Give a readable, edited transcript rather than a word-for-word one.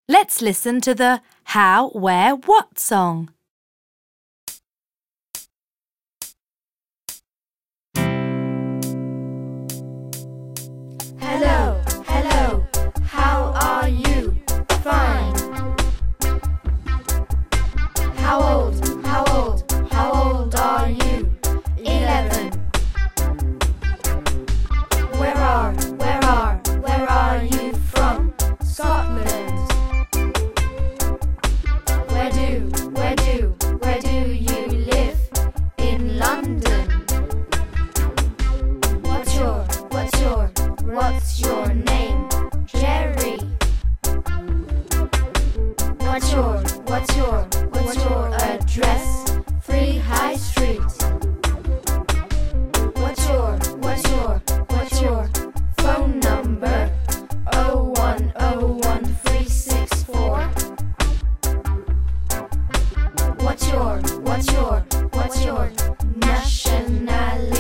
Let's listen to the How, Where, What song. Hello, hello, how are you? Fine. How old are you? 11. Where are you from? Scotland. Where do you live? In London. What's your name? Jerry. What's your address? Free High Street. What's your phone number? 0101364. What's your nationality?